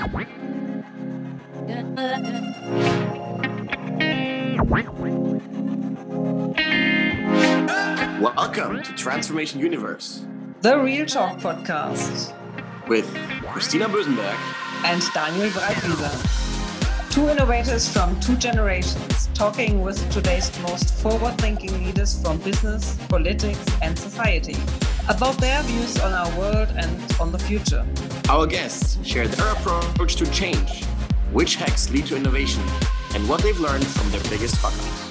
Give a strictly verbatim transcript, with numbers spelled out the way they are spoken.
Welcome to Transformation Universe, the Real Talk podcast with Christina Bösenberg and Daniel Breitwieser. Two innovators from two generations talking with today's most forward-thinking leaders from business, politics, and society about their views on our world and on the future. Our guests share their approach to change, which hacks lead to innovation, and what they've learned from their biggest fuck-ups.